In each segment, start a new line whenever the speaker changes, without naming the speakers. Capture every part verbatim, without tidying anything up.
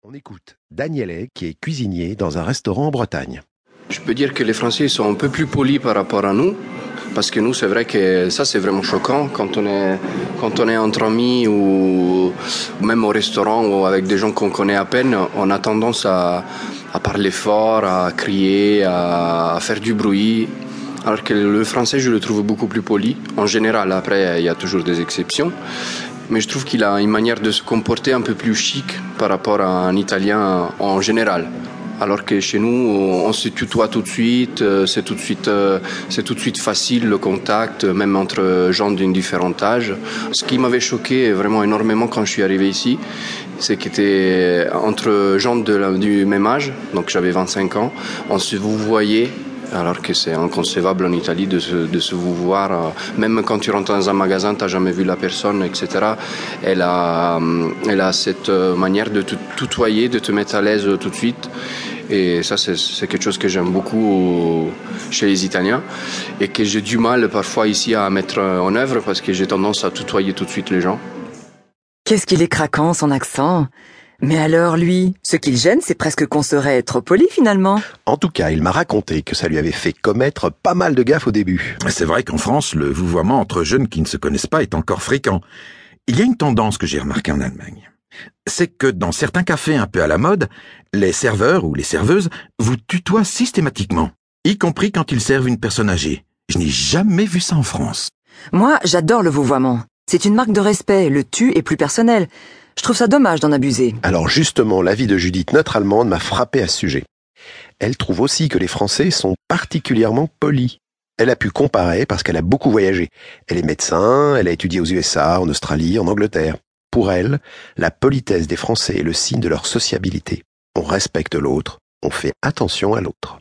On écoute Daniele qui est cuisinier dans un restaurant en Bretagne.
Je peux dire que les Français sont un peu plus polis par rapport à nous, parce que nous, c'est vrai que ça, c'est vraiment choquant quand on est, quand on est entre amis ou, ou même au restaurant ou avec des gens qu'on connaît à peine, on a tendance à, à parler fort, à crier, à, à faire du bruit. Alors que le français, je le trouve beaucoup plus poli. En général, après, il y a toujours des exceptions. Mais je trouve qu'il a une manière de se comporter un peu plus chic par rapport à un Italien en général. Alors que chez nous, on se tutoie tout de suite, c'est tout de suite, c'est tout de suite facile le contact, même entre gens d'un différent âge. Ce qui m'avait choqué vraiment énormément quand je suis arrivé ici, c'est qu'était entre gens de la, du même âge, donc j'avais vingt-cinq ans, on se vous voyait. Alors que c'est inconcevable en Italie de se, de se vous voir, même quand tu rentres dans un magasin, tu n'as jamais vu la personne, et cetera. Elle a, elle a cette manière de te tutoyer, de te mettre à l'aise tout de suite. Et ça, c'est, c'est quelque chose que j'aime beaucoup chez les Italiens et que j'ai du mal parfois ici à mettre en œuvre parce que j'ai tendance à tutoyer tout de suite les gens.
Qu'est-ce qu'il est craquant, son accent ? Mais alors, lui, ce qui le gêne, c'est presque qu'on serait trop poli, finalement.
En tout cas, il m'a raconté que ça lui avait fait commettre pas mal de gaffes au début.
C'est vrai qu'en France, le vouvoiement entre jeunes qui ne se connaissent pas est encore fréquent. Il y a une tendance que j'ai remarquée en Allemagne. C'est que dans certains cafés un peu à la mode, les serveurs ou les serveuses vous tutoient systématiquement, y compris quand ils servent une personne âgée. Je n'ai jamais vu ça en France.
Moi, j'adore le vouvoiement. C'est une marque de respect, le tu est plus personnel. Je trouve ça dommage d'en abuser.
Alors justement, l'avis de Judith, notre Allemande, m'a frappé à ce sujet. Elle trouve aussi que les Français sont particulièrement polis. Elle a pu comparer parce qu'elle a beaucoup voyagé. Elle est médecin, elle a étudié aux U S A, en Australie, en Angleterre. Pour elle, la politesse des Français est le signe de leur sociabilité. On respecte l'autre, on fait attention à l'autre.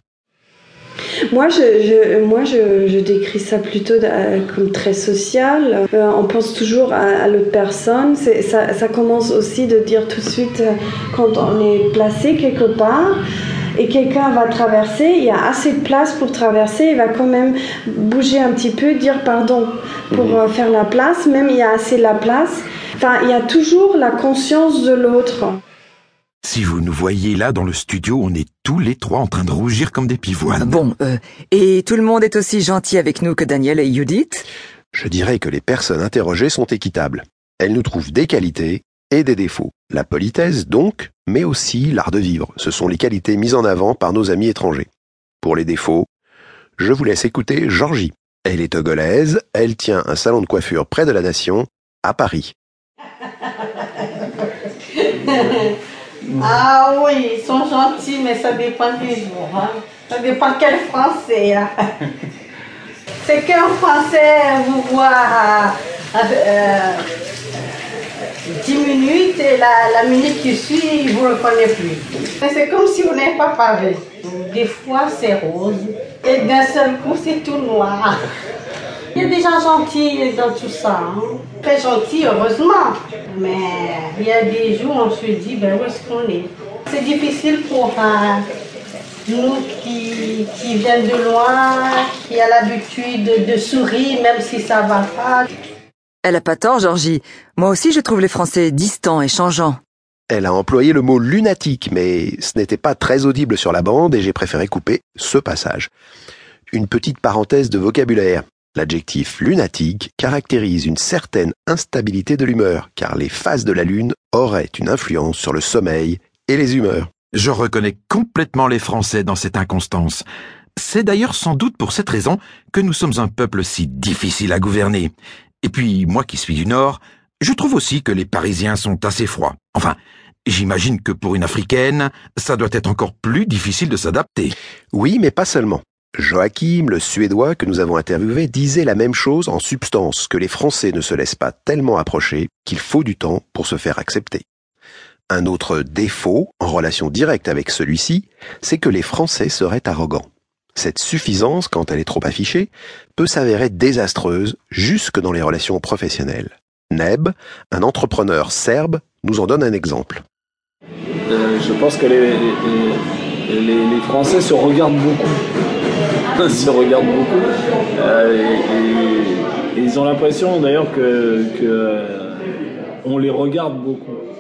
Moi, je, je, moi je, je décris ça plutôt de, comme très social. Euh, on pense toujours à, à l'autre personne. C'est, ça, ça commence aussi de dire tout de suite euh, quand on est placé quelque part et quelqu'un va traverser, il y a assez de place pour traverser, il va quand même bouger un petit peu, dire pardon pour euh, faire la place. Même il y a assez de la place. Enfin, il y a toujours la conscience de l'autre.
Si vous nous voyez là dans le studio, on est tous les trois en train de rougir comme des pivoines.
Bon, euh, et tout le monde est aussi gentil avec nous que Daniel et Judith ?
Je dirais que les personnes interrogées sont équitables. Elles nous trouvent des qualités et des défauts. La politesse donc, mais aussi l'art de vivre. Ce sont les qualités mises en avant par nos amis étrangers. Pour les défauts, je vous laisse écouter Georgie. Elle est togolaise, elle tient un salon de coiffure près de la Nation, à Paris.
Ah oui, ils sont gentils, mais ça dépend des jours. Hein. Ça dépend quel Français. Hein. C'est qu'un Français vous voit à, à, à dix minutes et la, la minute qui suit, il ne vous reconnaît plus. Mais c'est comme si vous n'avez pas parlé. Des fois, c'est rose et d'un seul coup, c'est tout noir. Il y a des gens gentils dans tout ça, hein. Très gentils, heureusement. Mais il y a des jours où on se dit, ben où est-ce qu'on est? C'est difficile pour euh, nous qui, qui viennent de loin, qui a l'habitude de, de sourire, même si ça va pas.
Elle a pas tort, Georgie. Moi aussi, je trouve les Français distants et changeants.
Elle a employé le mot lunatique, mais ce n'était pas très audible sur la bande et j'ai préféré couper ce passage. Une petite parenthèse de vocabulaire. L'adjectif lunatique caractérise une certaine instabilité de l'humeur, car les phases de la lune auraient une influence sur le sommeil et les humeurs.
Je reconnais complètement les Français dans cette inconstance. C'est d'ailleurs sans doute pour cette raison que nous sommes un peuple si difficile à gouverner. Et puis, moi qui suis du Nord, je trouve aussi que les Parisiens sont assez froids. Enfin, j'imagine que pour une Africaine, ça doit être encore plus difficile de s'adapter.
Oui, mais pas seulement. Joachim, le Suédois que nous avons interviewé, disait la même chose en substance, que les Français ne se laissent pas tellement approcher qu'il faut du temps pour se faire accepter. Un autre défaut, en relation directe avec celui-ci, c'est que les Français seraient arrogants. Cette suffisance, quand elle est trop affichée, peut s'avérer désastreuse jusque dans les relations professionnelles. Neb, un entrepreneur serbe, nous en donne un exemple.
Euh, je pense que les, les, les, les Français se regardent beaucoup. se regardent beaucoup. Euh, et, et, et ils ont l'impression d'ailleurs que, que euh, on les regarde beaucoup.